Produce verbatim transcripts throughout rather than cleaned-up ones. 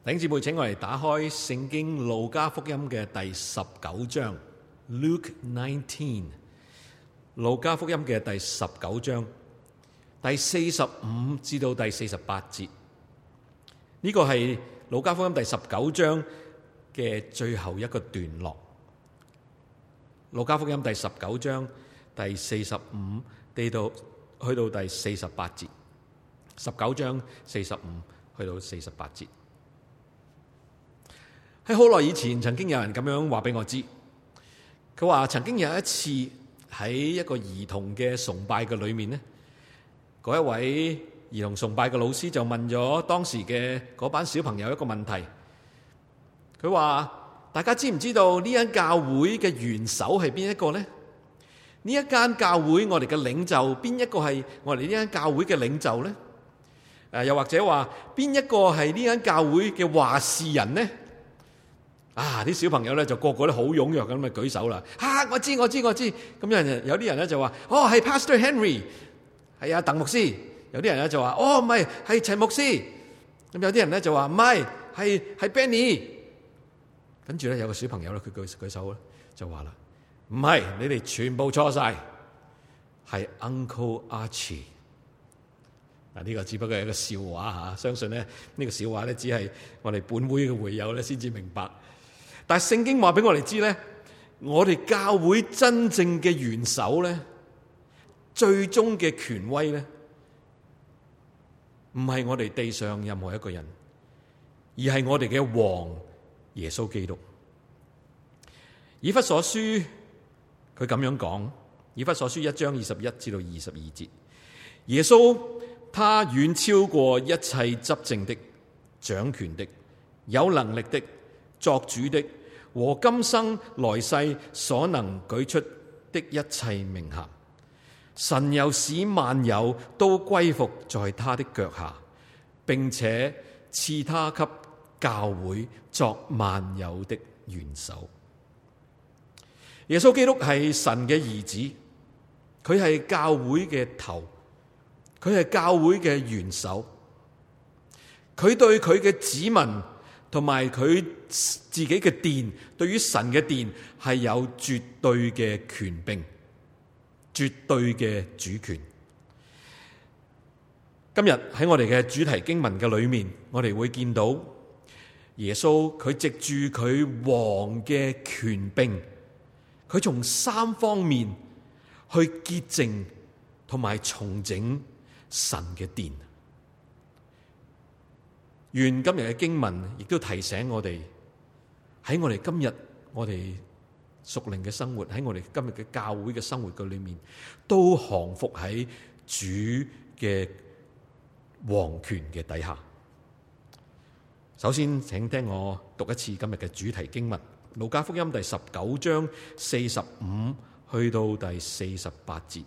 弟兄姊妹，請我哋打開聖經路加福音嘅第十九章 Luke nineteen， 路加福音嘅第十九章第四十五至到第四十八節。呢個係路加福音第十九章嘅最後一個段落。路加福音第十九章第四十五至到去到第四十八節，十九章四十五去到四十八節。喺好耐以前，曾經有人咁樣話俾我知，佢話曾經有一次喺一個兒童嘅崇拜嘅裏面呢，嗰一位兒童崇拜嘅老師就問咗當時嘅嗰班小朋友一個問題。佢話：大家知唔知道呢間教會嘅元首係邊一個呢？呢一間教會我哋嘅領袖邊一個係我哋呢間教會嘅領袖呢？誒，又或者話邊一個係呢間教會嘅話事人呢？啊！啲小朋友咧就個個都好踴躍咁咪舉手啦！啊，我知我知我知。咁有人有啲人咧就話：哦，係 Pastor Henry， 係啊，鄧牧師。有啲人咧就話：哦，唔係，係陳牧師。咁有啲人咧就話：唔係，係係 Benny。跟住咧有個小朋友咧，佢舉舉手咧就話啦：唔係，你哋全部錯晒，係 Uncle Archie。嗱，呢個只不過係一個笑話嚇，相信咧呢個笑話咧只係我哋本會嘅會友咧先至明白。但係聖經話俾我哋知咧，我哋教會真正嘅元首咧，最終嘅權威咧，唔係我哋地上任何一個人，而係我哋嘅王耶穌基督。以弗所書佢咁樣講，以弗所書一章二十一至到二十二節，耶穌他遠超過一切執政的、掌權的、有能力的、作主的和今生來世所能舉出的一切名銜。神又使萬有都歸服在他的腳下，並且賜他給教會作萬有的元首。耶穌基督係神嘅兒子，佢係教會嘅頭，佢係教會嘅元首。佢對佢嘅子民同埋佢自己嘅殿，對於神嘅殿係有絕對嘅權柄，絕對嘅主權。今日喺我哋嘅主題經文嘅裏面，我哋會見到耶穌佢藉住佢王嘅權柄，佢從三方面去潔淨同埋重整神嘅殿。願今日嘅經文亦都提醒我哋，喺我哋今日我哋屬靈嘅生活，喺我哋今日嘅教會嘅生活嘅裏面，都降服喺主嘅王權嘅底下。首先，請聽我讀一次今日嘅主題經文，路加福音第十九章四十五去到第四十八節。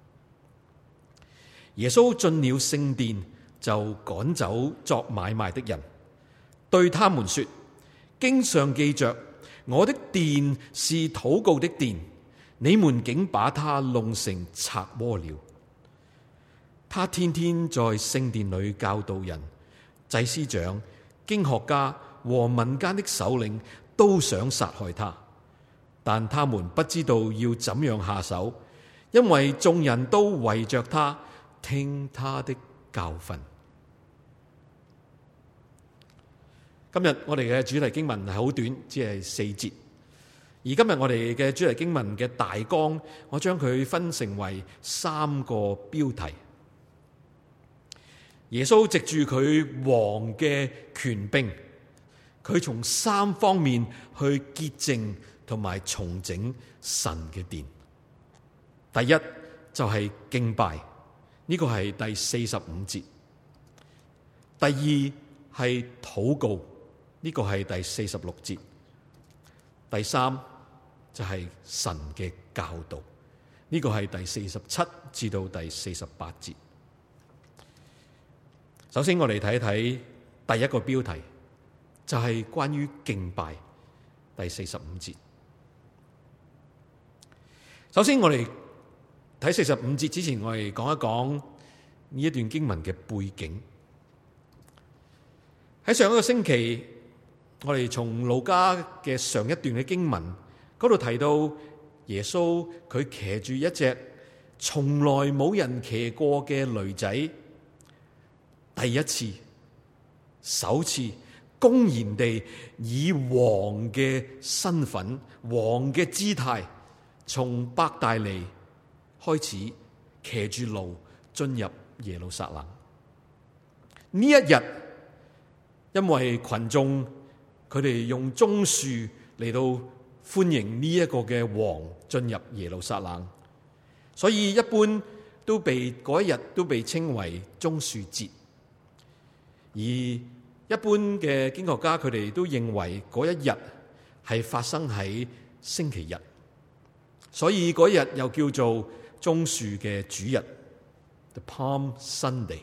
耶穌進了聖殿，就趕走作買賣的人，對他們說：經上記着，我的殿是禱告的殿，你們竟把它弄成賊窩了。他天天在聖殿裏教導人，祭司長、經學家和民間的首領都想殺害他，但他們不知道要怎樣下手，因為眾人都圍着他，聽他的教訓。今日我哋嘅主題經文係好短，只係四節。而今日我哋嘅主題經文嘅大綱，我將佢分成為三個標題。耶穌藉住佢王嘅權柄，佢從三方面去潔淨同埋重整神嘅殿。第一就係敬拜，呢個係第四十五節。第二係禱告，呢個係第四十六節。第三就係神嘅教導，呢個係第四十七至到第四十八節。首先我哋睇一睇第一個標題，就係關於敬拜，第四十五節。首先我哋睇四十五節之前，我哋講一講呢一段經文嘅背景。 喺上一個星期，我哋從路加嘅上一段嘅經文嗰度提到耶穌佢騎住一隻從來冇人騎過嘅驢仔，第一次、首次公然地以王嘅身份、王嘅姿態，從伯大尼開始騎住驢進入耶路撒冷。呢一日，因為群眾佢哋用棕樹嚟到歡迎呢一個嘅王進入耶路撒冷，所以一般都被嗰一日都被稱為棕樹節。而一般嘅經學家佢哋都認為嗰一日係發生喺星期日，所以嗰日又叫做棕樹嘅主日 ，The Palm Sunday。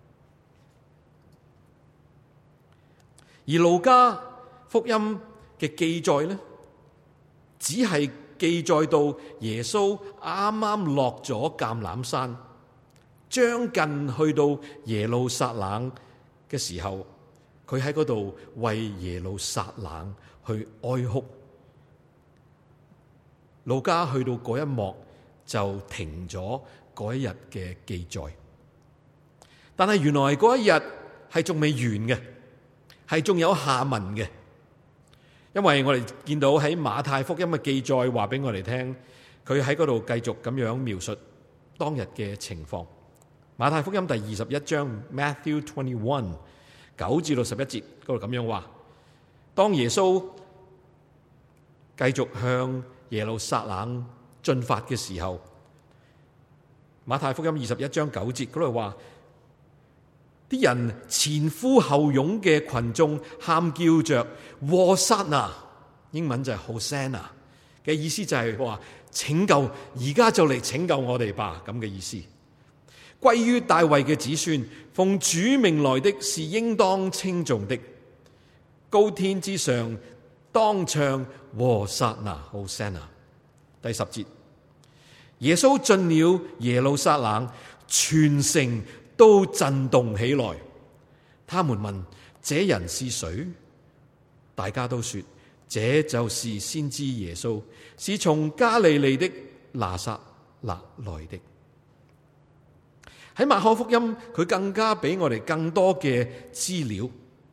而路加福音嘅記載呢，只係記載到耶穌啱啱落咗橄欖山，將近去到耶路撒冷嘅時候，佢喺嗰度為耶路撒冷去哀哭。路加去到嗰一幕就停咗嗰一日嘅記載，但係原來嗰一日係仲未完嘅。係仲有下文嘅，因為我哋見到喺馬太福音嘅記載話俾我哋聽，佢喺嗰度繼續咁樣描述當日嘅情況。馬太福音第二十一章 Matthew twenty one 九至到十一節嗰度咁樣話：當耶穌繼續向耶路撒冷進發嘅時候，馬太福音二十一章九節嗰度話。啲人前呼後擁嘅群眾喊叫着和散那，英文就係 Hosanna 嘅意思，就係話拯救，而家就嚟拯救我哋吧，咁嘅意思。歸於大衛嘅子孫，奉主名來的是應當稱頌的，高天之上當唱和散那 Hosanna。第十節，耶穌進了耶路撒冷，全城都震動起來，他們問：這人是誰？大家都說：這就是先知耶穌，是從加利利的拿撒勒來的。喺馬可福音，佢更加俾我哋更多嘅資料。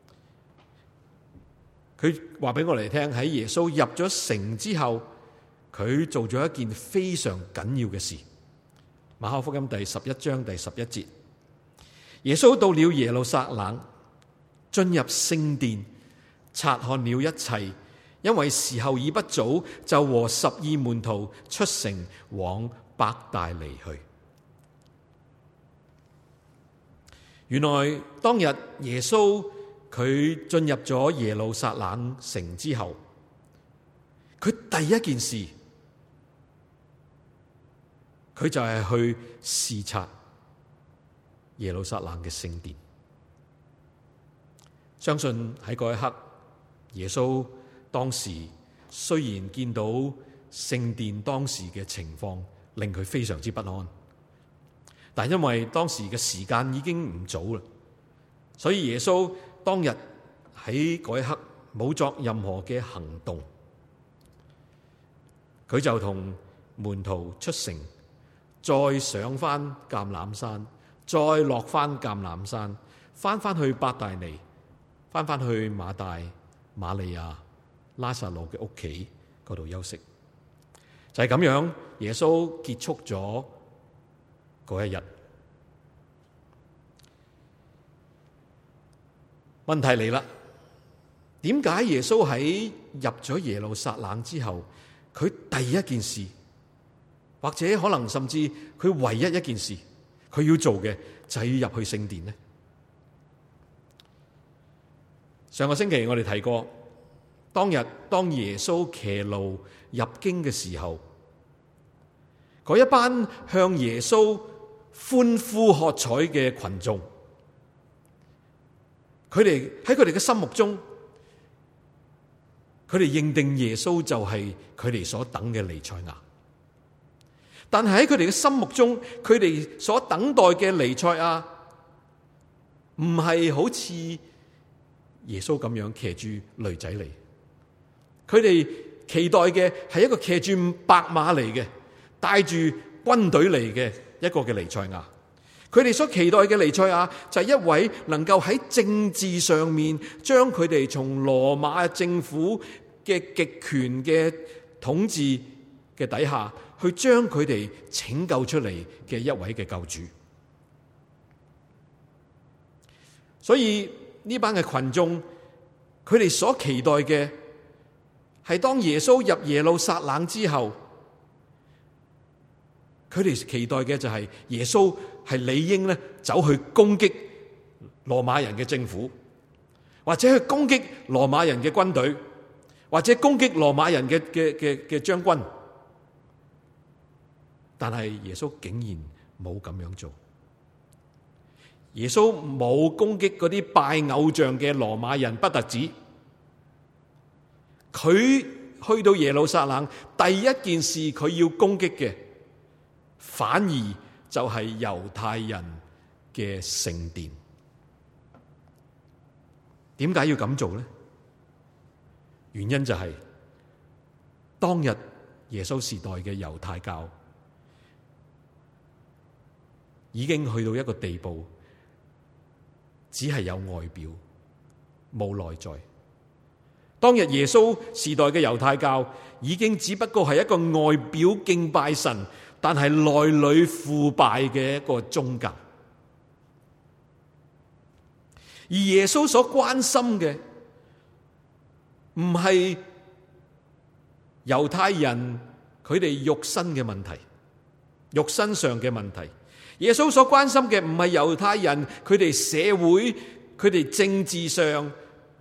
佢話俾我哋聽，喺耶穌入咗城之後，佢做咗一件非常緊要嘅事。馬可福音第十一章第十一節。耶穌到了耶路撒冷，進入聖殿，察看了一切，因為時候已不早，就和十二門徒出城往伯大尼去。原來當日耶穌佢進入咗耶路撒冷城之後，佢第一件事，佢就係去視察耶路撒冷嘅聖殿。相信喺嗰一刻，耶穌當時雖然見到聖殿當時嘅情況令佢非常之不安，但因為當時嘅時間已經唔早啦，所以耶穌當日喺嗰一刻冇作任何嘅行動，佢就同門徒出城，再上翻橄欖山，再落翻橄欖山，翻翻去伯大尼，翻翻去馬大、瑪利亞、拉撒路嘅屋企嗰度休息。就係咁樣，耶穌結束咗嗰一日。問題嚟啦，點解耶穌喺入咗耶路撒冷之後，佢第一件事，或者可能甚至佢唯一一件事，佢要做嘅就係要入去聖殿呢？上個星期我哋提過，當日當耶穌騎驢入京嘅時候，嗰一班向耶穌歡呼喝彩嘅群眾，佢哋喺佢哋嘅心目中，佢哋認定耶穌就係佢哋所等嘅彌賽亞。但係喺佢哋嘅心目中，佢哋所等待嘅彌賽亞唔係好似耶穌咁樣騎住驢仔嚟。佢哋期待嘅係一個騎住白馬嚟嘅，帶住軍隊嚟嘅一個嘅彌賽亞。佢哋所期待嘅彌賽亞就係一位能夠喺政治上面將佢哋從羅馬政府嘅極權嘅統治嘅底下，去將佢哋拯救出嚟嘅一位嘅救主。所以呢班嘅群眾，佢哋所期待嘅係當耶穌入耶路撒冷之後，佢哋期待嘅就係耶穌係理應咧走去攻擊羅馬人嘅政府，或者去攻擊羅馬人嘅軍隊，或者攻擊羅馬人嘅嘅嘅嘅將軍。但係耶穌竟然冇咁樣做。耶穌冇攻擊嗰啲拜偶像嘅羅馬人，不特止，佢去到耶路撒冷第一件事佢要攻擊嘅，反而就係猶太人嘅聖殿。點解要咁做呢？原因就係當日耶穌時代嘅猶太教已經去到一個地步，只係有外表冇內在。當日耶穌時代嘅猶太教已經只不過係一個外表敬拜神，但係內裏腐敗嘅一個宗教。而耶穌所關心嘅唔係猶太人佢哋肉身嘅問題，肉身上嘅問題。耶穌所關心嘅唔係猶太人佢哋社會佢哋政治上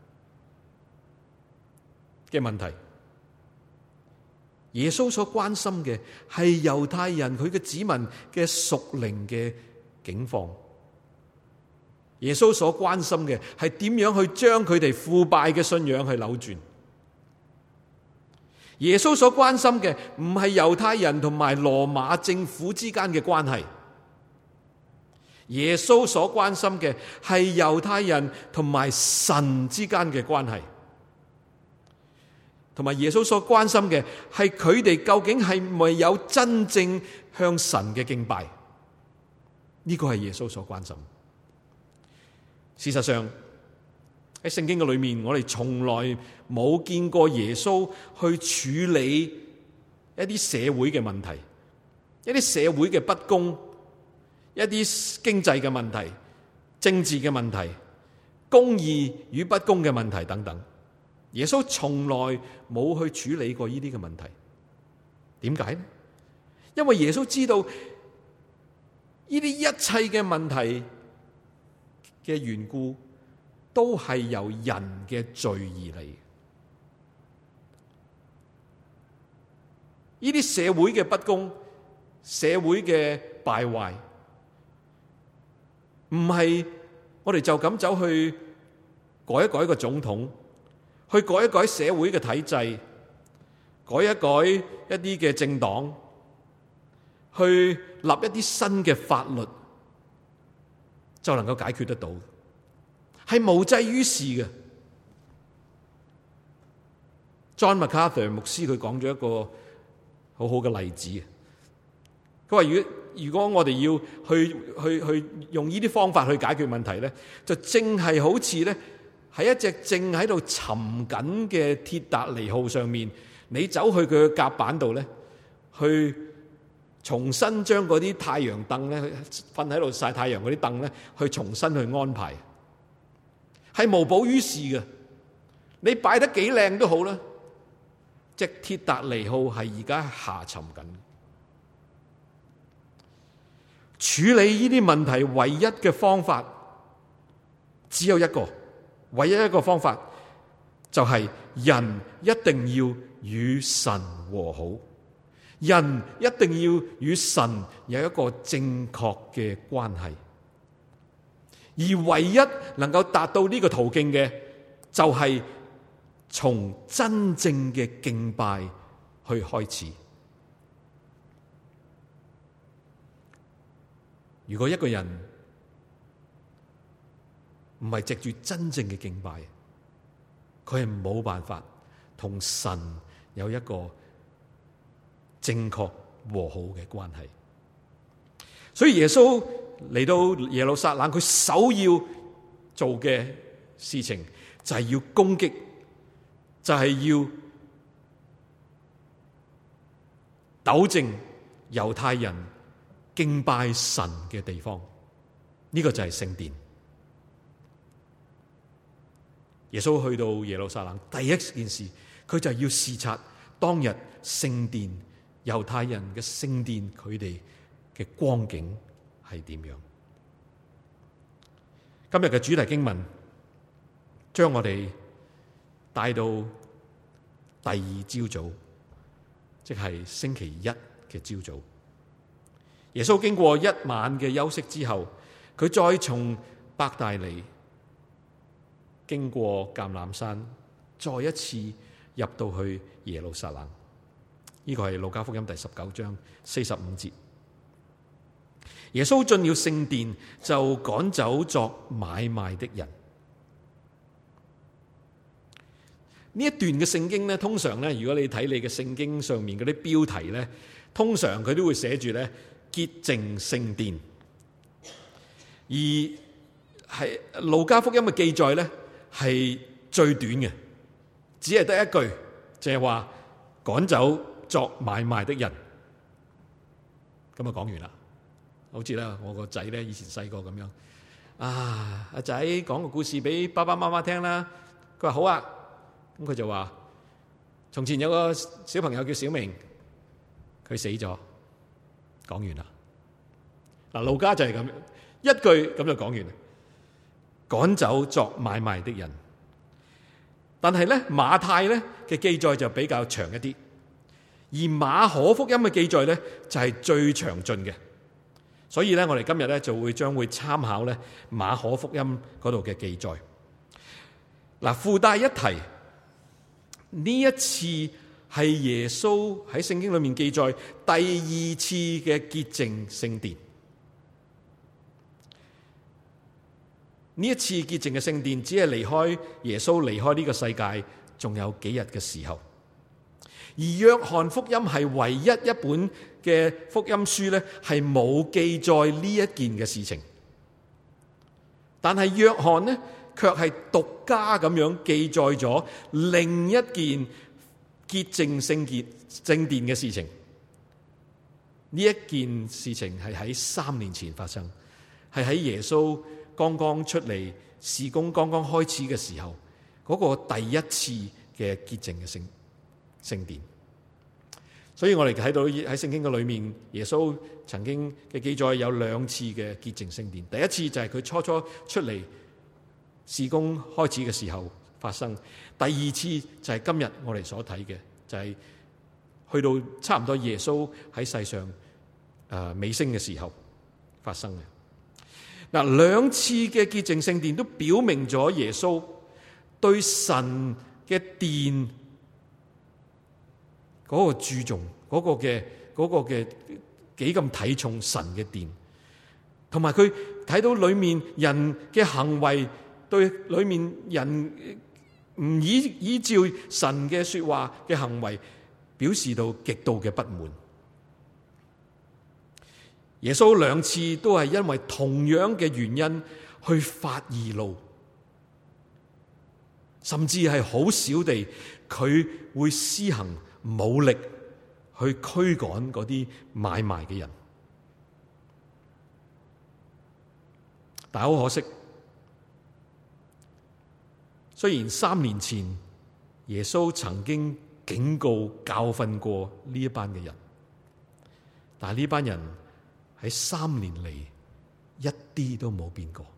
嘅問題。耶穌所關心嘅係猶太人佢嘅子民嘅屬靈嘅境況。耶穌所關心嘅係點樣去將佢哋腐敗嘅信仰去扭轉。耶穌所關心嘅唔係猶太人同埋羅馬政府之間嘅關係。耶穌所關心嘅係猶太人同埋神之間嘅關係，同埋耶穌所關心嘅係佢哋究竟係咪有真正向神嘅敬拜？呢個係耶穌所關心。事實上喺聖經嘅裏面，我哋從來冇見過耶穌去處理一啲社會嘅問題，一啲社會嘅不公，一啲經濟嘅問題、政治嘅問題、公義與不公嘅問題等等，耶穌從來冇去處理過呢啲嘅問題。點解呢？因為耶穌知道呢啲一切嘅問題嘅緣故，都係由人嘅罪而嚟。呢啲社會嘅不公、社會嘅敗壞，唔係我哋就咁走去改一改個總統，去改一改社會嘅體制，改一改一啲嘅政黨，去立一啲新嘅法律，就能夠解決得到，係無濟於事嘅。John MacArthur 牧師佢講咗一個好好嘅例子，佢話如果如果我哋要去去去用呢啲方法去解決問題咧，就正係好似咧喺一隻正喺度沉緊嘅鐵達尼號上面，你走去佢嘅甲板度咧，去重新將嗰啲太陽凳咧，瞓喺度曬太陽嗰啲凳咧，去重新去安排，係無補於事嘅。你擺得幾靚都好啦，隻鐵達尼號係而家下沉緊。處理呢啲問題唯一嘅方法只有一個，唯一一個方法就係人一定要與神和好，人一定要與神有一個正確嘅關係，而唯一能夠達到呢個途徑嘅，就係從真正嘅敬拜去開始。如果一個人唔係藉住真正嘅敬拜， 佢係冇辦法同神有一個正確和好嘅關係。所以耶穌嚟到耶路撒冷，佢首要做嘅事情就係要攻擊，就係要糾正猶太人敬拜神嘅地方。呢個就係聖殿。耶穌去到耶路撒冷，第一件事佢就要視察當日聖殿，猶太人嘅聖殿，佢哋嘅光景係點樣。今日嘅主題經文將我哋帶到第二朝早，即係星期一嘅朝早。耶穌經過一晚嘅休息之後，佢再從伯大尼經過橄欖山，再一次入到去耶路撒冷。呢個係路加福音第十九章四十五節。耶穌進了聖殿，就趕走作買賣的人。呢一段嘅聖經咧，通常咧，如果你睇你嘅聖經上面嗰啲標題咧，通常佢都會寫住咧潔淨聖殿。而係路加福音嘅記載咧，係最短嘅，只係得一句，就係話趕走作買賣的人。咁啊講完啦。好似咧，我個仔咧以前細個咁樣，啊阿仔講個故事俾爸爸媽媽聽啦。佢話好啊，咁佢就話：從前有個小朋友叫小明，佢死咗。講完啦。嗱，路加就係咁樣，一句咁就講完。趕走作買賣的人。但係咧馬太咧嘅記載就比較長一啲，而馬可福音嘅記載咧就係最詳盡嘅。所以咧，我哋今日咧就會將會參考咧馬可福音嗰度嘅記載。嗱，附帶一提，呢一次係耶穌喺聖經裏面記載第二次嘅潔淨聖殿。呢一次潔淨嘅聖殿，只係離開耶穌離開呢個世界，仲有幾日嘅時候。而約翰福音係唯一一本嘅福音書咧，係冇記載呢一件嘅事情。但係約翰呢，卻係獨家咁樣記載咗另一件潔淨聖潔聖殿嘅事情。呢一件事情係喺三年前發生，係喺耶穌剛剛出嚟事工剛剛開始嘅時候，嗰、那個第一次嘅潔淨嘅聖聖殿。所以我哋睇到喺聖經嘅裏面，耶穌曾經嘅記載有兩次嘅潔淨聖殿。第一次就係佢初初出嚟事工開始嘅時候發生，第二次就係今日我哋所睇嘅，就係、是、去到差唔多耶穌喺世上誒、呃、尾聲嘅時候發生嘅。嗱，兩次嘅潔淨聖殿都表明咗耶穌對神嘅殿嗰個注重，嗰個嘅嗰個嘅幾咁睇重神嘅殿，同埋佢睇到裏面人嘅行為，對裏面人唔依依照神嘅說話嘅行為，表示到極度嘅不滿。耶穌兩次都係因為同樣嘅原因去發義怒，甚至係好少地佢會施行武力去驅趕嗰啲買賣嘅人。但係好可惜，雖然三年前耶穌曾經警告教訓過呢一班嘅人，但係呢班人喺三年嚟一啲都冇變過。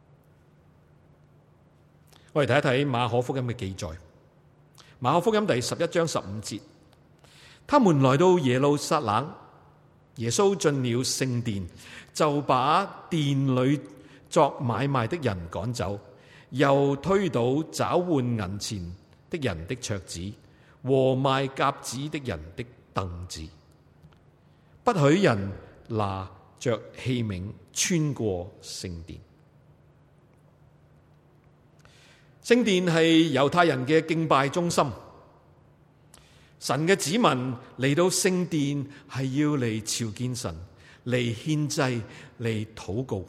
我哋睇一睇馬可福音嘅記載。馬可福音第十一章十五節，他們來到耶路撒冷，耶穌進了聖殿，就把殿裏作買賣的人趕走，又推倒找換銀錢的人的桌子和賣鴿子的人的凳子，不許人拿着器皿穿過聖殿。 聖殿係猶太人嘅敬拜中心，神嘅子民嚟到聖殿係要嚟朝見神，嚟獻祭，嚟禱告。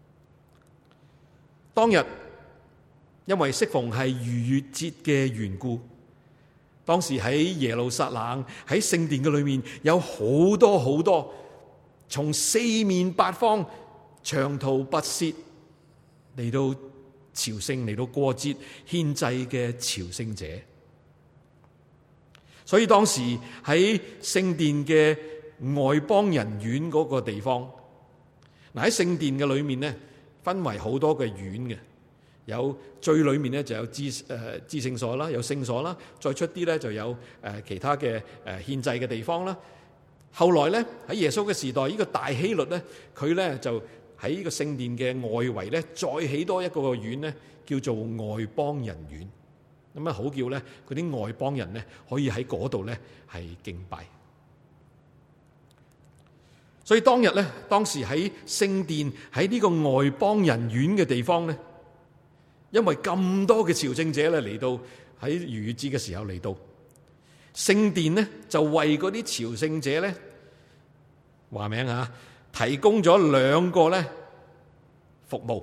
當日因為適逢係逾越節嘅緣故，當時喺耶路撒冷喺聖殿嘅裏面有好多好多從四面八方長途跋涉嚟到朝聖，嚟到過節獻祭嘅朝聖者。所以當時喺聖殿嘅外邦人院嗰個地方，嗱，喺聖殿嘅裏面呢，分為好多嘅院嘅，有最裏面呢就有至誒至聖所啦，有聖所啦，再出啲呢就有誒其他嘅誒獻祭嘅地方啦。後來呢，喺耶穌嘅時代，呢、這個大希律呢，佢呢就喺呢個聖殿嘅外圍呢，再起多一個院呢，叫做外邦人院。咁啊，好叫呢嗰啲外邦人呢，可以喺嗰度呢係敬拜。所以當日呢，當時喺聖殿喺呢個外邦人院嘅地方呢，因為咁多嘅朝聖者咧嚟到喺逾越節嘅時候嚟到聖殿呢，就為嗰啲朝聖者呢話名啊，提供咗兩個呢服務。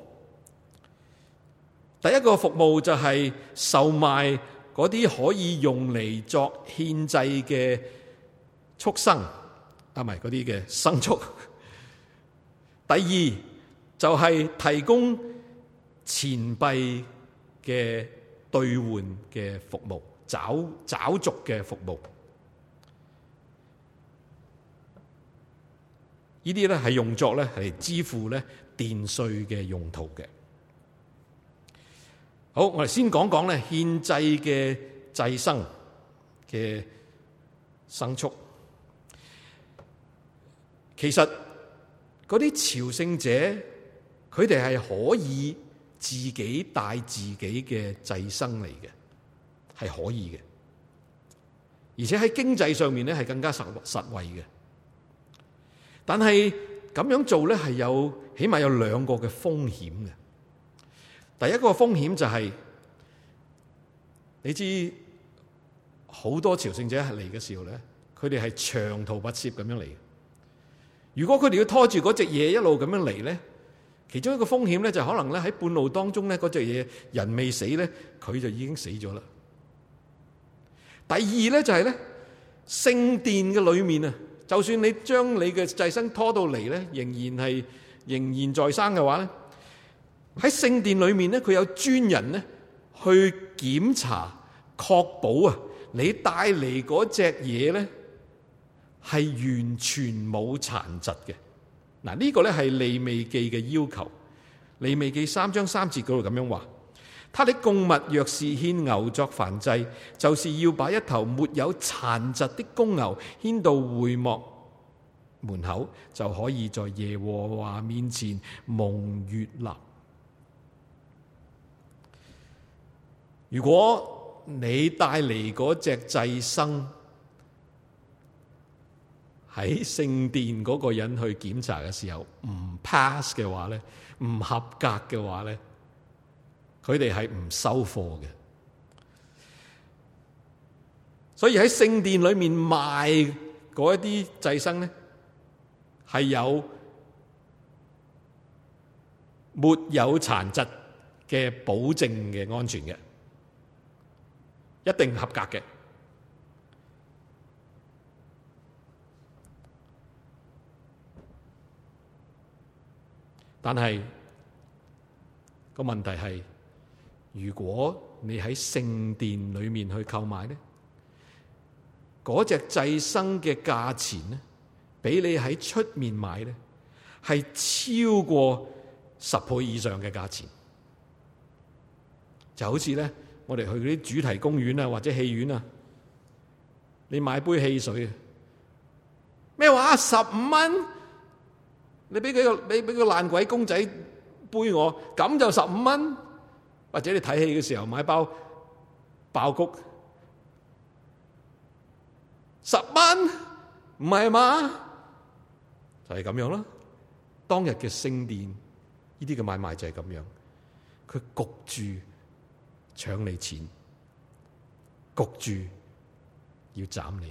第一個服務就係售賣嗰啲可以用嚟作獻祭嘅畜生，啊唔係嗰啲嘅牲畜。第二就係提供錢幣嘅兌換嘅服務，找找續嘅服務。呢啲咧係用作咧係支付咧殿稅嘅用途嘅。好，我哋先講講咧獻祭嘅祭牲嘅牲畜。其實嗰啲朝聖者，佢哋係可以自己帶自己嘅祭牲嚟嘅，係可以嘅，而且喺經濟上面咧係更加實實惠嘅。但係咁樣做咧係有起碼有兩個嘅風險嘅。第一個風險就係、是、你知好多朝聖者係嚟嘅時候咧，佢哋係長途跋涉咁樣嚟嘅。如果佢哋要拖住嗰隻嘢一路咁樣嚟咧，其中一個風險咧就可能咧喺半路當中咧嗰隻嘢人未死咧，佢就已經死咗啦。第二咧就係咧聖殿嘅裏面啊，就算你將你嘅祭牲拖到嚟咧，仍然係仍然在生嘅話咧，喺聖殿裏面咧，佢有專人咧去檢查，確保啊你帶嚟嗰隻嘢咧係完全冇殘疾嘅。嗱，呢個咧係利未記嘅要求。利未記三章三節嗰度咁樣話：他的供物若是獻牛作燔祭，就是要把一頭沒有殘疾的公牛牽到會幕門口，就可以在耶和華面前蒙悅納。如果你帶嚟嗰隻祭牲喺聖殿嗰個人去檢查嘅時候唔 pass 嘅話咧，唔合格嘅話咧，佢哋係唔收貨嘅。所以喺聖殿裏面賣嗰一啲祭牲咧，係有沒有殘疾嘅保證嘅安全嘅，一定合格嘅。但係個問題係，如果你喺聖殿裏面去購買咧，嗰隻祭牲嘅價錢咧，比你喺出面買咧係超過十倍以上嘅價錢。就好似咧，我哋去嗰啲主題公園啊，或者戲院啊，你買杯汽水啊，咩話十五蚊？你俾佢個你俾個爛鬼公仔杯我，咁就十五蚊。或者你睇戲嘅時候買包爆谷，十蚊，唔係嘛？就係咁樣啦。當日嘅聖殿呢啲嘅買賣就係咁樣，佢焗住搶你錢，焗住要斬你。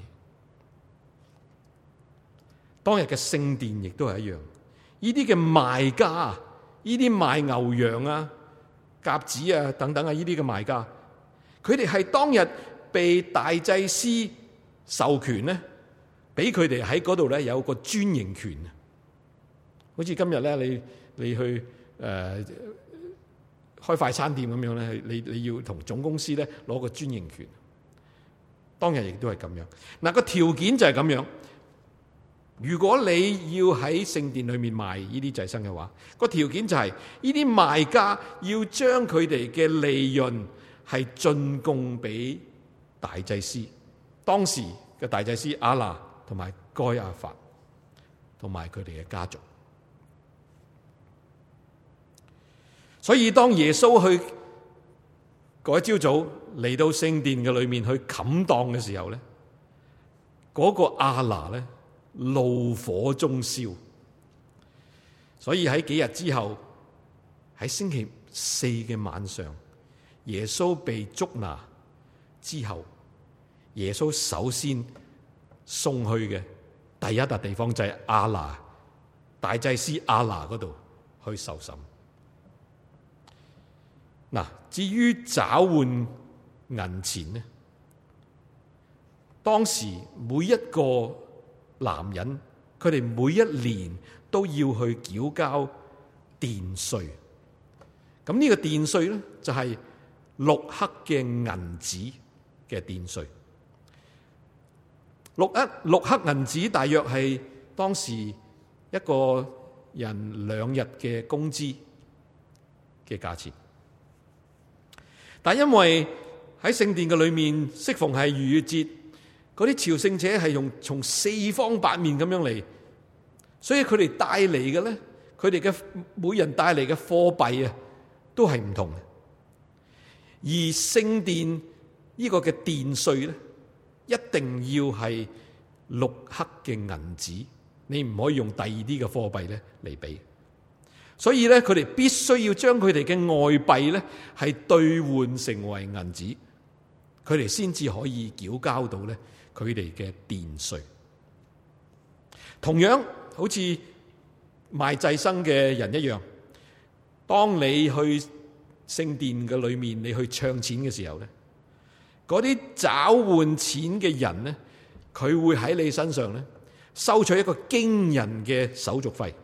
當日嘅聖殿亦都係一樣，呢啲嘅賣家，呢啲賣牛羊啊、鴿子啊等等啊，呢啲嘅賣家，佢哋係當日被大祭司授權咧，俾佢哋喺嗰度咧有個專營權啊。好似今日咧，你你去誒、呃、開快餐店咁樣咧，你你要同總公司咧攞個專營權。當日亦都係咁樣。嗱，個條件就係咁樣。如果你要喺聖殿裏面賣呢啲祭牲嘅話，個條件就係呢啲賣家要將佢哋嘅利潤係進貢俾大祭司，當時嘅大祭司亞那同埋該亞法同埋佢哋嘅家族。所以當耶穌去嗰一朝早嚟到聖殿嘅裏面去冚檔嘅時候咧，嗰、那個亞那咧怒火中燒。所以喺幾日之後，喺星期四嘅晚上，耶穌被捉拿之後，耶穌首先送去嘅第一笪地方就係亞那大祭司亞那嗰度去受審。嗱，至於找換銀錢呢，當時每一個男人，佢哋每一年都要去繳交殿稅。咁呢個殿稅咧，就係六克嘅銀子嘅殿稅。六克六克銀子大約係當時一個人兩日嘅工資嘅價錢。但因為喺聖殿嘅裏面，適逢係逾越節，嗰啲朝聖者係用從四方八面咁樣嚟，所以佢哋帶嚟嘅咧，佢哋嘅每人帶嚟嘅貨幣啊，都係唔同嘅。而聖殿呢個嘅殿稅咧，一定要係六克嘅銀子，你唔可以用第二啲嘅貨幣咧嚟比。所以咧，佢哋必須要將佢哋嘅外幣咧係兌換成為銀子，佢哋先至可以繳交到咧佢哋嘅殿稅。同樣好似賣祭牲嘅人一樣，當你去聖殿嘅裏面，你去唱錢嘅時候咧，嗰啲找換錢嘅人咧，佢會喺你身上咧收取一個驚人嘅手續費。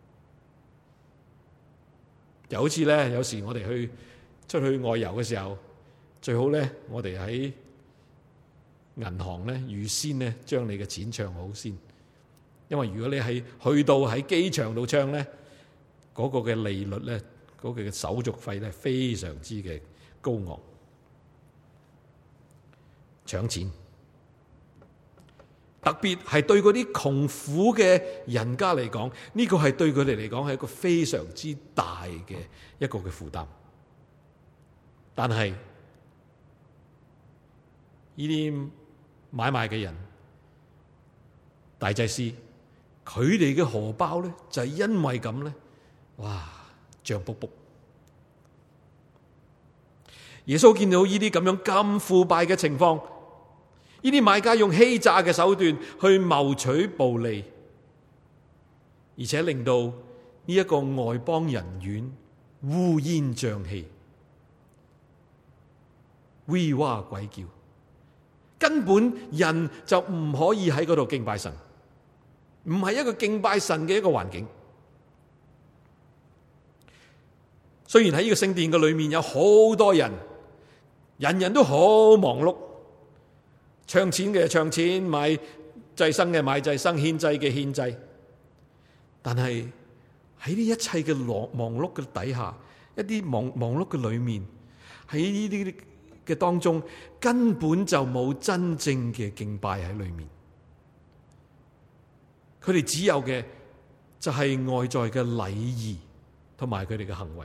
就好似咧，有時我哋去出去外遊嘅時候，最好咧，我哋喺銀行咧預先咧將你嘅錢唱好先，因為如果你係去到喺機場度唱咧，嗰個嘅利率咧，嗰個嘅手續費咧非常之嘅高昂。搶錢，特別係對嗰啲窮苦嘅人家嚟講，呢個係對佢哋嚟講係一個非常之大嘅一個嘅負擔。但係呢啲買賣嘅人，大祭司，佢哋嘅荷包咧就係因為咁咧，哇，脹卜卜。耶穌見到呢啲咁樣咁腐敗嘅情況，呢啲買家用欺詐嘅手段去謀取暴利，而且令到呢一個外邦人院烏煙瘴氣、嗚哇鬼叫，根本人就唔可以喺嗰度敬拜神，唔係一個敬拜神嘅一個環境。雖然喺呢個聖殿嘅裏面有好多人，人人都好忙碌，唱錢嘅唱錢，買祭牲嘅買祭牲，獻祭嘅獻祭，但係喺呢一切嘅忙忙碌嘅底下，一啲忙忙碌嘅裏面，喺呢啲嘅當中，根本就冇真正嘅敬拜喺裏面。佢哋只有嘅就係外在嘅禮儀同埋佢哋嘅行為，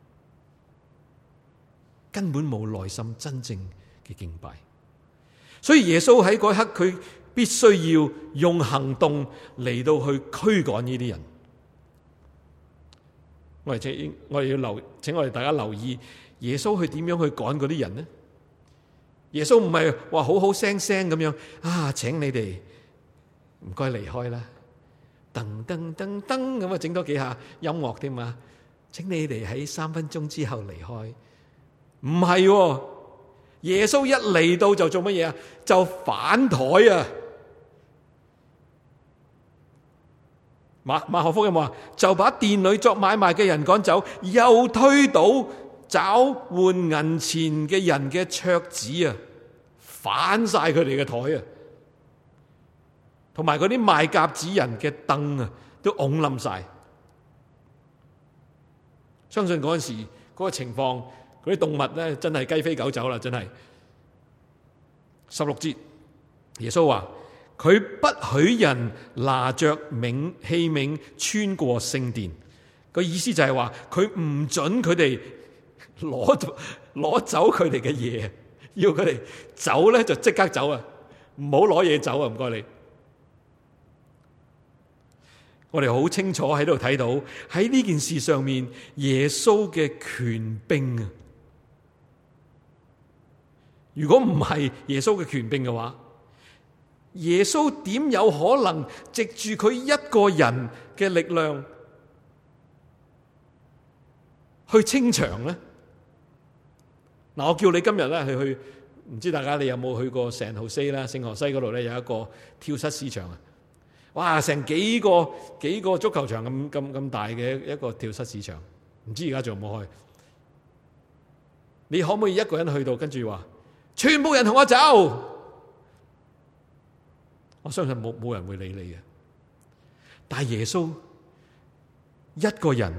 根本冇內心真正嘅敬拜。所以耶穌喺嗰一刻，佢必須要用行動嚟到去驅趕呢啲人。我哋請我哋要留，請我哋大家留意耶穌去點樣去趕嗰啲人呢？耶穌唔係話好好聲聲咁樣啊，請你哋唔該離開啦，噔噔噔噔咁啊，整多幾下音樂添嘛，請你哋喺三分鐘之後離開。唔係，耶穌一嚟到就做乜嘢啊？就反台啊！馬馬可福音話，就把店裏作買賣嘅人趕走，又推倒找換銀錢嘅人嘅桌子啊，反晒佢哋嘅台啊，同埋嗰啲賣鴿子人嘅凳啊，都拱冧晒。相信嗰陣時嗰個情況，嗰啲動物咧真係雞飛狗走啦，真係。十六節，耶穌話，佢不許人拿着冥器皿穿過聖殿，個意思就係話佢唔准佢哋攞攞走佢哋嘅嘢，要佢哋走咧就即刻走啊，唔好攞嘢走啊，唔該你。我哋好清楚喺度睇到喺呢件事上面耶穌嘅權柄啊！如果唔係耶穌嘅權柄嘅話，耶穌點有可能藉住佢一個人嘅力量去清場呢？嗱，我叫你今日咧去去，唔知大家你有冇去過聖荷西啦？聖荷西嗰度咧有一個跳蚤市場啊！哇，成幾個幾個足球場咁咁咁大嘅一個跳蚤市場，唔知而家仲有冇開？你可唔可以一個人去到，跟住話全部人同我走？我相信冇冇人會理你嘅。但係耶穌一個人，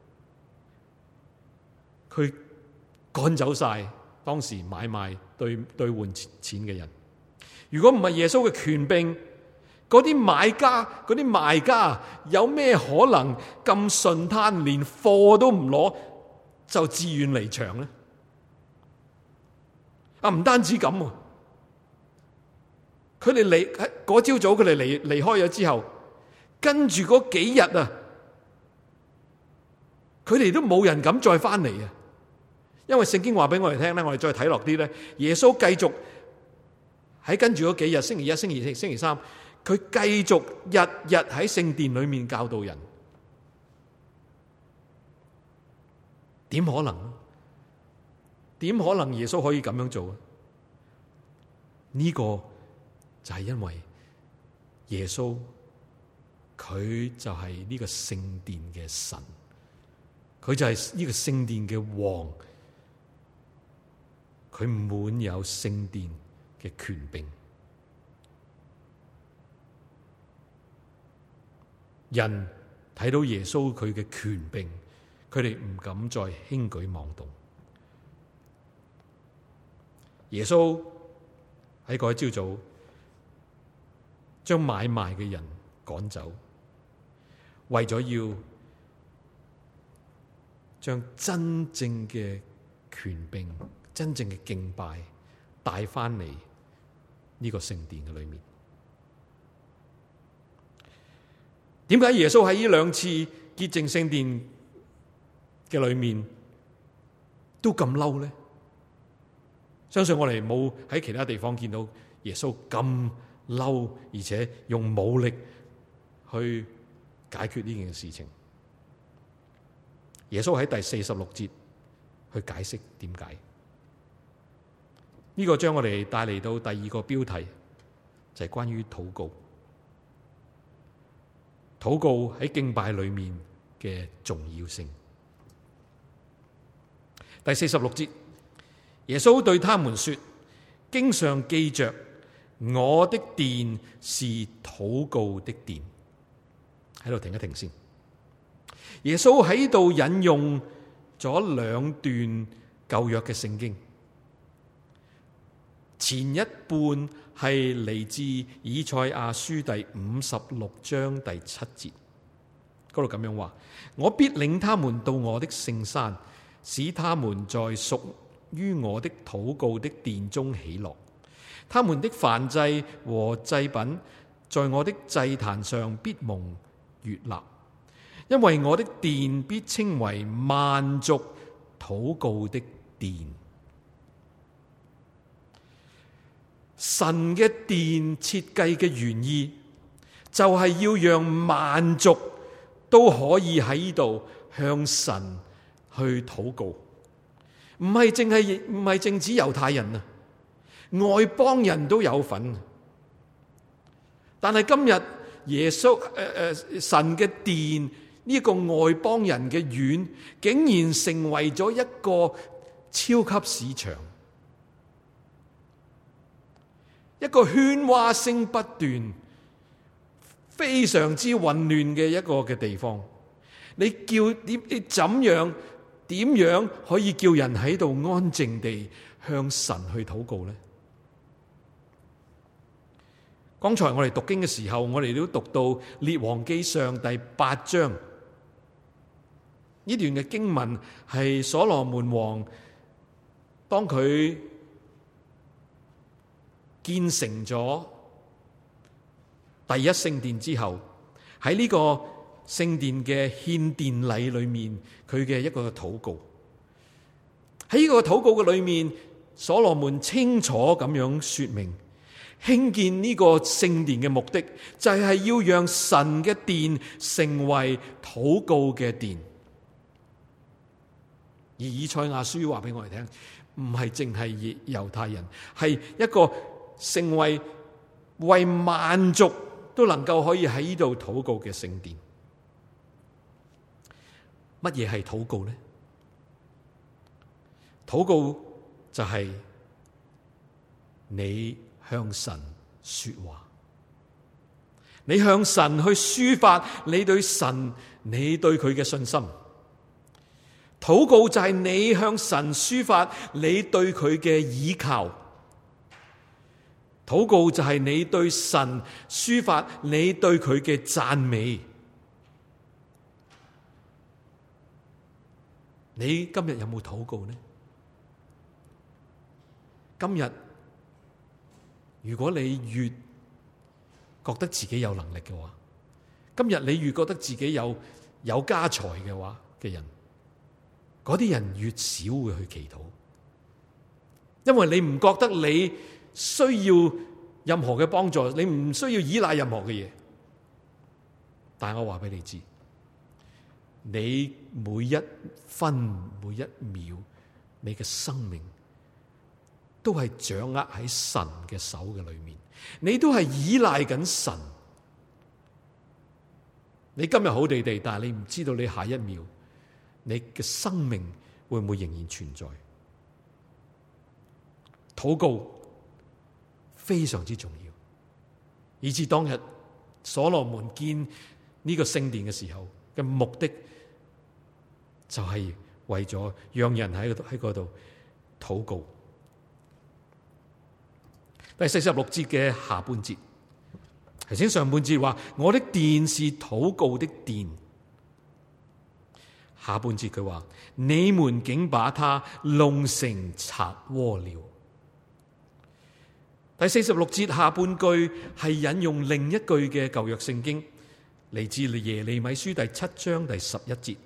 佢趕走晒當時買賣兌兌換錢嘅人。如果唔係耶穌嘅權柄，嗰啲買家、嗰啲賣家有咩可能咁順攤，連貨都唔攞就自願離場呢？啊，唔單止咁，佢哋離喺嗰朝早，佢哋離離開咗之後，跟住嗰幾日啊，佢哋都冇人敢再翻嚟啊！因為聖經話俾我哋聽咧，我哋再睇落啲咧，耶穌繼續喺跟住嗰幾日，星期一、星期二、星期三。佢繼續日日喺聖殿裏面教導人，點可能？點可能耶穌可以咁樣做？呢個就係因為耶穌佢就係呢個聖殿嘅神，佢就係呢個聖殿嘅王，佢滿有聖殿嘅權柄。人睇到耶穌佢嘅權柄，佢哋唔敢再輕舉妄動。耶穌喺嗰一朝早將買賣嘅人趕走，為咗要將真正嘅權柄、真正嘅敬拜帶翻嚟呢個聖殿嘅裏面。點解耶穌喺呢兩次潔淨聖殿嘅裏面都咁嬲呢？相信我哋冇喺其他地方見到耶穌咁嬲，而且用武力去解決呢件事情。耶穌喺第四十六節去解釋點解。呢個將我哋帶嚟到第二個標題，就係關於禱告。禱告喺敬拜裏面嘅重要性。第四十六節，耶穌對他們說：經上記着，我的殿是禱告的殿。喺度停一停先。耶穌喺度引用咗兩段舊約嘅聖經，前一半係嚟自以賽亞書第五十六章第七節，嗰度咁樣話：我必領他們到我的聖山，使他們在屬於我的禱告的殿中喜樂。他們的燔祭和祭品在我的祭壇上必蒙悅納，因為我的殿必稱為萬族禱告的殿。神嘅殿設計嘅原意就係要讓萬族都可以喺呢度向神去禱告，唔係淨係唔係淨止猶太人啊，外邦人都有份。但係今日耶穌誒誒神嘅殿呢個外邦人嘅院，竟然成為咗一個超級市場，一個喧嘩聲不斷、非常之混亂嘅一個嘅地方。你叫點？你怎樣點樣可以叫人喺度安靜地向神去禱告呢？剛才我哋讀經嘅時候，我哋都讀到列王記上第八章，呢段嘅經文係所羅門王當佢建成咗第一聖殿之後，喺呢個聖殿嘅獻殿禮裏面，佢嘅一個禱告。喺呢個禱告嘅裏面，所羅門清楚咁樣說明，興建呢個聖殿嘅目的就係要讓神嘅殿成為禱告嘅殿。而以賽亞書話俾我哋聽，唔係淨係猶太人，係一個成為為萬族都能夠可以喺呢度禱告嘅聖殿。乜嘢係禱告呢？禱告就係你向神說話，你向神去抒發你對神、你對佢嘅信心。禱告就係你向神抒發你對佢嘅倚靠。禱告就係你對神抒發你對佢嘅讚美。你今日有冇禱告呢？今日如果你越覺得自己有能力嘅話，今日你越覺得自己有有家財嘅話嘅人，嗰啲人越少會去祈禱，因為你唔覺得你需要任何嘅幫助，你唔需要依賴任何嘅嘢。但係我話俾你知，你每一分每一秒，你嘅生命都係掌握喺神嘅手嘅裏面，你都係依賴緊神。你今日好地地，但係你唔知道你下一秒你嘅生命會唔會仍然存在。禱告非常之重要，以至當日所羅門建呢個聖殿嘅時候嘅目的，就係為咗讓人喺喺嗰度禱告。第四十六節嘅下半節，頭先上半節話我的殿是禱告的殿，下半節佢話你們竟把它弄成賊窩了。第四十六節下半句係引用另一句嘅舊約聖經，嚟自耶利米書第七章第十一節，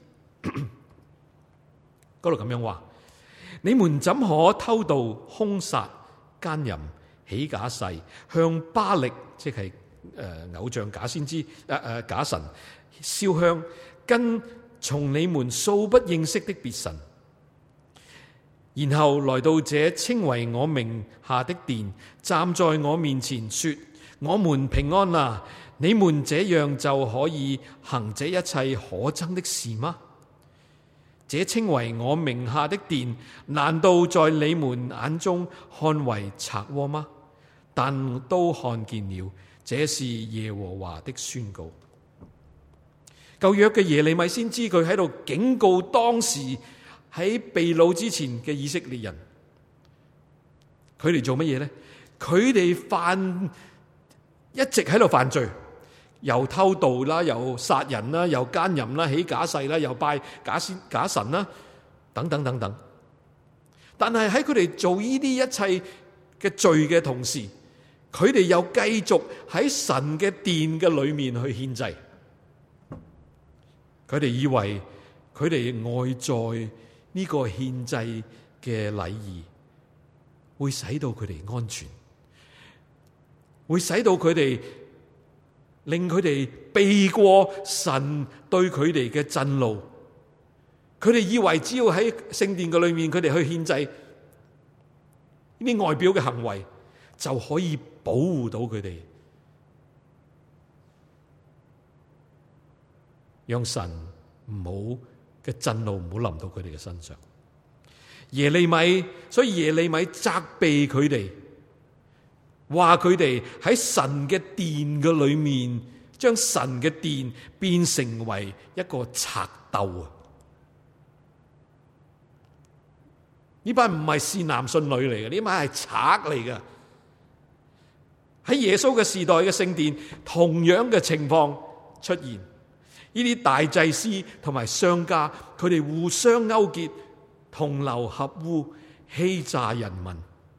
嗰度咁樣話：你們怎可偷盜、兇殺、奸淫、起假誓，向巴力，即係誒、呃、偶像假先知誒誒、呃、假神燒香，跟從你們素不認識的別神，然後來到這稱為我名下的殿，站在我面前說：我們平安啦！你們這樣就可以行這一切可憎的事嗎？這稱為我名下的殿，難道在你們眼中看為賊窩嗎？但都看見了，這是耶和華的宣告。舊約嘅耶利米先知，佢喺度警告當時喺被擄之前嘅以色列人，佢哋做乜嘢呢？佢哋犯一直喺度犯罪，又偷盜啦，又殺人啦，又奸淫啦，起假誓啦，又拜假先假神啦，等等等等。但係喺佢哋做呢啲一切嘅罪嘅同時，佢哋又繼續喺神嘅殿嘅裏面去獻祭。佢哋以為佢哋外在呢個獻祭嘅禮儀會使到佢哋安全，會使到佢哋令佢哋避過神對佢哋嘅震怒。佢哋以為只要喺聖殿嘅裏面，佢哋去獻祭，呢啲外表嘅行為就可以保護到佢哋，讓神唔好嘅震怒唔好臨到佢哋嘅身上。耶利米，所以耶利米責備佢哋，話佢哋喺神嘅殿嘅裏面，將神嘅殿變成為一個賊竇啊！呢班唔係善男信女嚟嘅，呢班係賊嚟嘅。喺耶穌嘅時代嘅聖殿，同樣嘅情況出現。呢啲大祭司同埋商家，佢哋互相勾結，同流合污，欺詐人民，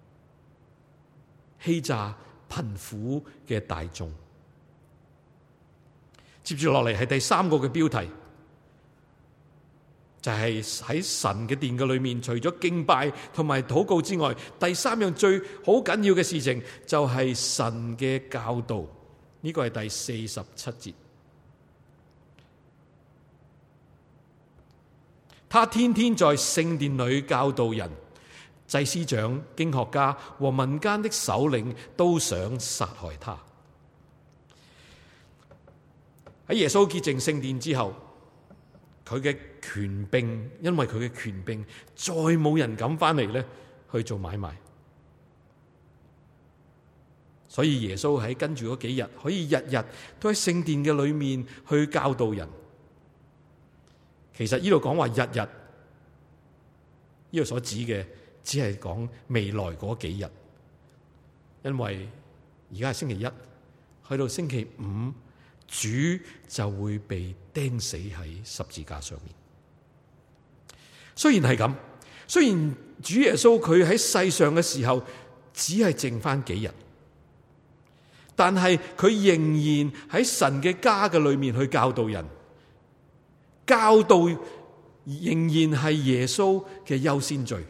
欺詐貧苦嘅大眾。接住落嚟係第三個嘅標題，就係喺神嘅殿嘅裏面，除咗敬拜同埋禱告之外，第三樣最好緊要嘅事情就係神嘅教導。呢個係第四十七節。他天天在聖殿裏教導人，祭司長、經學家和民間的首領都想殺害他。喺耶穌潔淨聖殿之後，佢嘅權柄，因為佢嘅權柄，再冇人敢翻嚟咧去做買賣。所以耶穌喺跟住嗰幾日，可以日日都喺聖殿嘅裏面去教導人。其實呢度講話日日，呢度所指嘅只係講未來嗰幾日，因為而家係星期一，去到星期五，主就會被釘死喺十字架上面。雖然係咁，雖然主耶穌佢喺世上嘅時候只係剩翻幾日，但係佢仍然喺神嘅家嘅裏面去教導人，教導仍然係耶穌嘅優先序。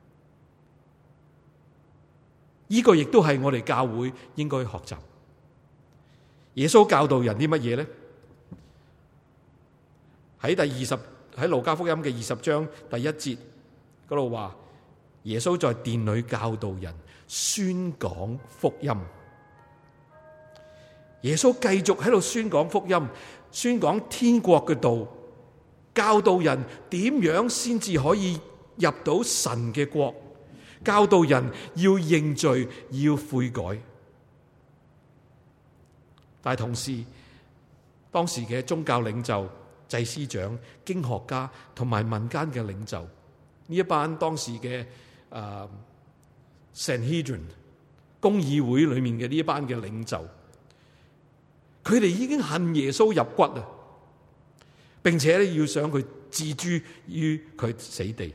呢個亦都係我哋教會應該學習。耶穌教導人啲乜嘢呢？喺第二十喺路加福音嘅二十章第一節嗰度話，耶穌在殿裏教導人，宣講福音。耶穌繼續喺度宣講福音，宣講天國嘅道，教導人點樣先至可以入到神嘅國，教導人要認罪，要悔改。但係同時，當時嘅宗教領袖、祭司長、經學家同埋民間嘅領袖，呢一班當時嘅誒 Sanhedrin 公議會裏面嘅呢一班嘅領袖，佢哋已經恨耶穌入骨啊，並且咧要想佢置諸於佢死地。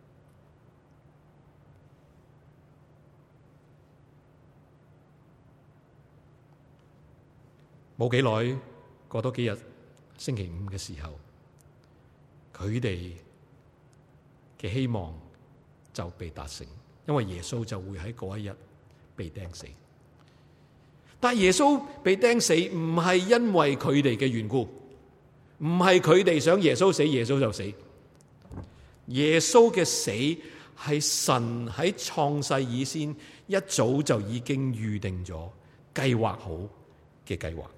冇幾耐，過多幾日，星期五嘅時候，佢哋嘅希望就被達成，因為耶穌就會喺嗰一日被釘死。但耶穌被釘死唔係因為佢哋嘅緣故，唔係佢哋想耶穌死，耶穌就死。耶穌嘅死係神喺創世以先一早就已經預定咗、計劃好嘅計劃。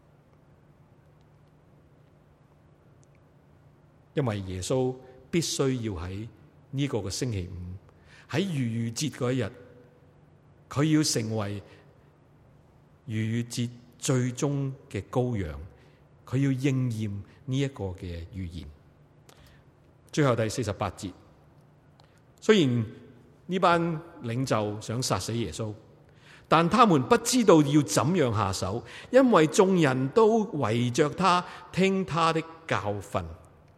因為耶穌必須要喺呢個嘅星期五，喺逾越節嗰一日，佢要成為逾越節最終嘅羔羊，佢要應驗呢一個嘅預言。最後第四十八節，雖然呢班領袖想殺死耶穌，但他們不知道要怎樣下手，因為眾人都圍着他聽他的教訓。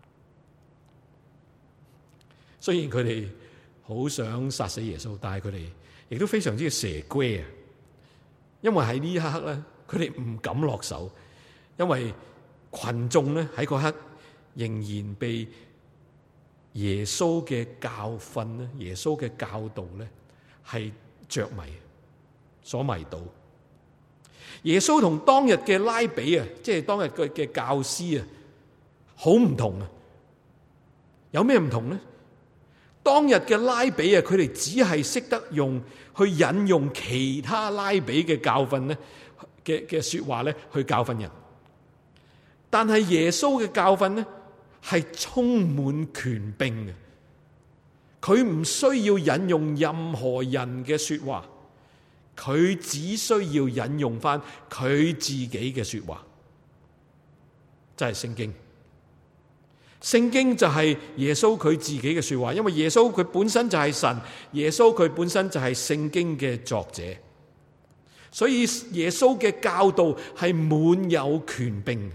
雖然佢哋好想殺死耶穌，但係佢哋亦都非常之嘅蛇龜啊！因為喺呢一刻咧，佢哋唔敢落手，因為群眾咧喺嗰刻仍然被耶穌嘅教訓咧，耶穌嘅教導咧，係着迷，所迷倒。耶穌同當日嘅拉比啊，即係當日嘅嘅教師啊，好唔同啊！有咩唔同呢？當日嘅拉比啊，佢哋只係識得用去引用其他拉比嘅教訓咧嘅嘅說話咧去教訓人，但係耶穌嘅教訓咧係充滿權柄嘅，佢唔需要引用任何人嘅說話，佢只需要引用翻佢自己嘅說話，就係聖經。聖經就係耶穌佢自己嘅說話，因為耶穌佢本身就係神，耶穌佢本身就係聖經嘅作者，所以耶穌嘅教導係滿有權柄，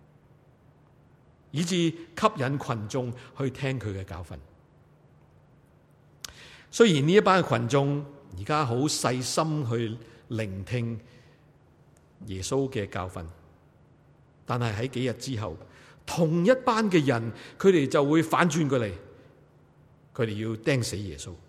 以致吸引群眾去聽佢嘅教訓。雖然呢一班群眾而家好細心去聆聽耶穌嘅教訓，但係喺幾日之後，同一班嘅人，佢哋就會反轉過嚟，佢哋要釘死耶穌。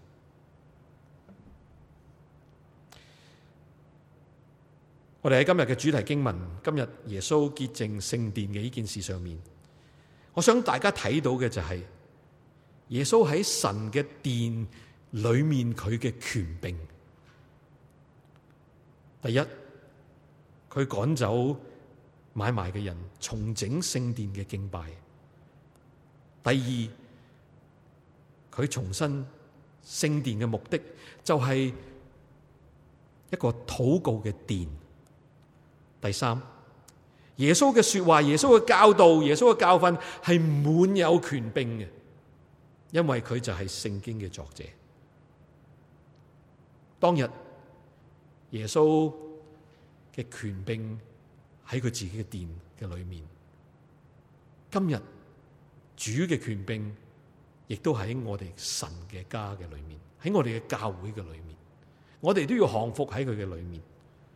我哋喺今日嘅主題經文，今日耶穌潔淨聖殿嘅呢件事上面，我想大家睇到嘅就係耶穌喺神嘅殿裏面佢嘅權柄。第一，佢趕走買賣嘅人，重整聖殿嘅敬拜。第二，佢重申聖殿嘅目的就係一個禱告嘅殿。第三，耶穌嘅說話，耶穌嘅教導，耶穌嘅教訓係滿有權柄嘅，因為佢就係聖經嘅作者。當日耶穌嘅權柄喺佢自己嘅殿嘅裏面，今日主嘅權柄亦都喺我哋神嘅家嘅裏面，喺我哋嘅教會嘅裏面，我哋都要降服喺佢嘅裏面。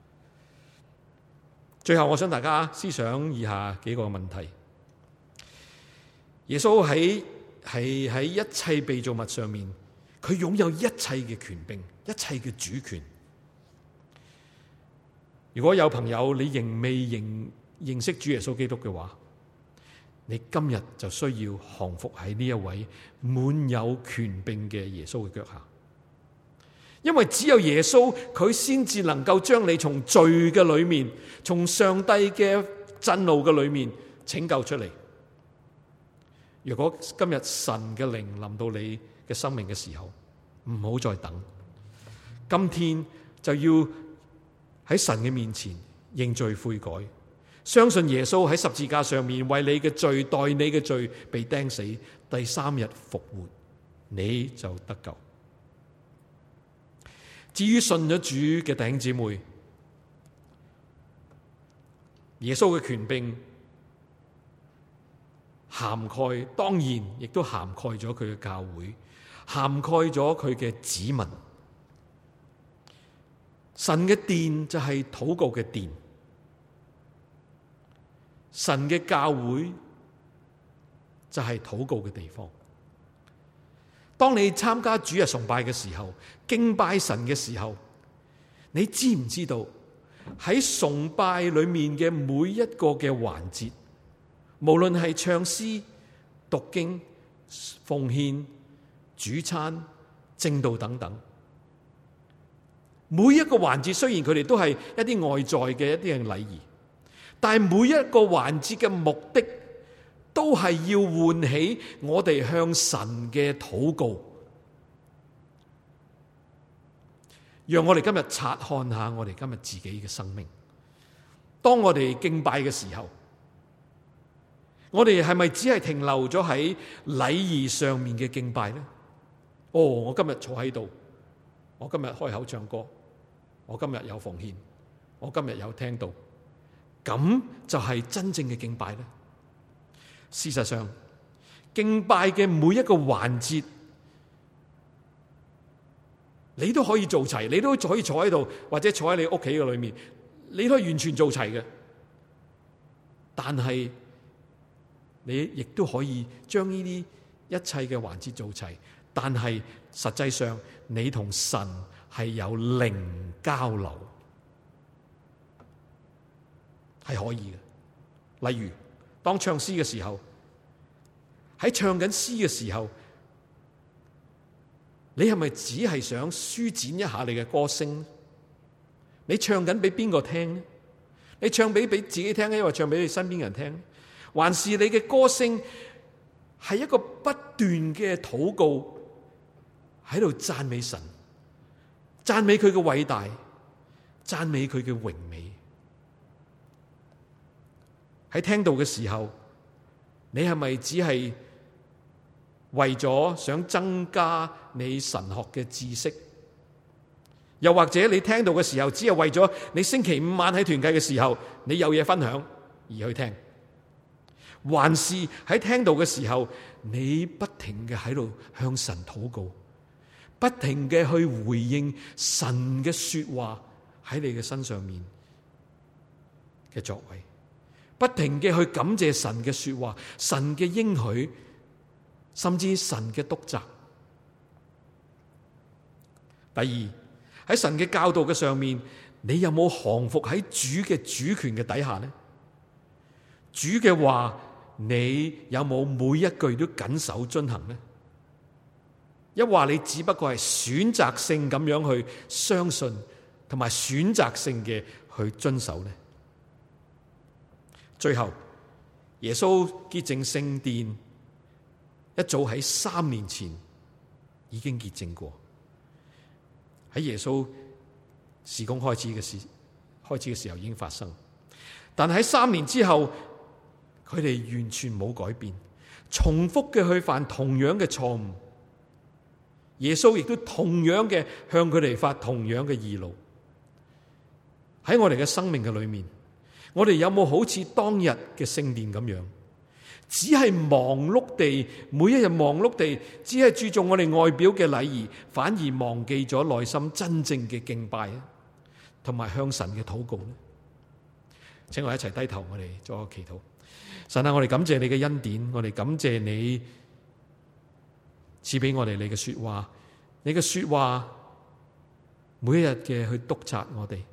最後我想大家思想以下幾個問題。耶穌喺係喺一切被造物上面，佢擁有一切嘅權柄，一切嘅主權。如果有朋友你仍未認認識主耶穌基督嘅話，你今日就需要降服喺呢一位滿有權柄嘅耶穌嘅腳下，因為只有耶穌佢先至能夠將你從罪嘅裏面，從上帝嘅震怒嘅裏面拯救出嚟。如果今日神嘅靈臨到你嘅生命嘅時候，唔好再等，今天就要喺神嘅面前認罪悔改，相信耶穌喺十字架上面為你嘅罪，代你嘅罪被釘死，第三日復活，你就得救。至於信咗主嘅弟兄姊妹，耶穌嘅權柄涵蓋，當然亦都涵蓋咗佢嘅教會，涵蓋咗佢嘅子民。神嘅殿就係禱告嘅殿，神嘅教會就係禱告嘅地方。當你參加主日崇拜嘅時候，敬拜神嘅時候，你知唔知道喺崇拜裏面嘅每一個嘅環節，無論係唱詩、讀經、奉獻、主餐、證道等等，每一個環節雖然佢哋都係一啲外在嘅一啲嘅禮儀，但係每一個環節嘅目的都係要喚起我哋向神嘅禱告。讓我哋今日察看下我哋今日自己嘅生命。當我哋敬拜嘅時候，我哋係咪只係停留咗喺禮儀上面嘅敬拜呢？哦，我今日坐喺度，我今日開口唱歌，我今日有奉獻，我今日有聽到，咁就係真正嘅敬拜呢？事實上，敬拜嘅每一個環節，你都可以做齊，你都可以坐喺度，或者坐喺你屋企嘅裏面，你都可以完全做齊嘅。但係你亦都可以將呢啲一切嘅環節做齊，但係實際上你同神係有靈交流，係可以嘅。例如當唱詩嘅時候，喺唱緊詩嘅時候，你係咪只係想舒展一下你嘅歌聲？你唱緊俾邊個聽呢？你唱俾俾自己聽，抑或唱俾你身邊人聽？還是你嘅歌聲係一個不斷嘅禱告，喺度讚美神，讚美佢嘅偉大，讚美佢嘅榮美？喺聽道嘅時候，你係咪只係為咗想增加你神學嘅知識？又或者你聽道嘅時候，只係為咗你星期五晚喺團契嘅時候，你有嘢分享而去聽？還是喺聽道嘅時候，你不停嘅喺度向神禱告，不停嘅去回應神嘅說話喺你嘅身上面嘅作為，不停嘅去感謝神嘅說話、神嘅應許，甚至神嘅督責？第二，喺神嘅教導嘅上面，你有冇降服喺主嘅主權嘅底下呢？主嘅話，你有冇每一句都謹守遵行呢？一話你只不過係選擇性咁樣去相信，同埋選擇性嘅去遵守呢？最後，耶穌潔淨聖殿，一早喺三年前已經潔淨過。喺耶穌事工開始嘅時，開始嘅時候已經發生，但喺三年之後，佢哋完全冇改變，重複嘅去犯同樣嘅錯誤。耶穌亦都同樣嘅向佢哋發同樣嘅義怒。喺我哋嘅生命嘅裏面，我哋有冇好似當日嘅聖殿咁樣，只係忙碌地，每一日忙碌地，只係注重我哋外表嘅禮儀，反而忘記咗內心真正嘅敬拜啊，同埋向神嘅禱告呢？請我一齊低頭，我哋做個祈禱。神啊，我哋感謝你嘅恩典，我哋感謝你賜俾我哋你嘅說話，你嘅說話每一日嘅去督責我哋，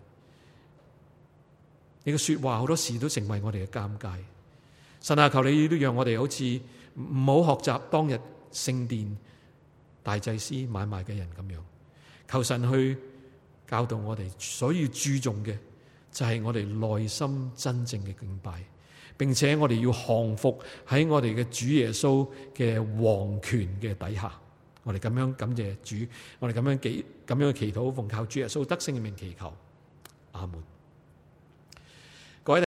你嘅說話好多時都成為我哋嘅監戒。神啊，求你都讓我哋好似唔好學習當日聖殿大祭司買賣嘅人咁樣，求神去教導我哋，所以注重嘅就係我哋內心真正嘅敬拜，並且我哋要降服喺我哋嘅主耶穌嘅王權嘅底下。我哋咁樣感謝主，我哋咁樣祈咁樣祈禱，奉靠主耶穌得勝嘅名祈求，阿門。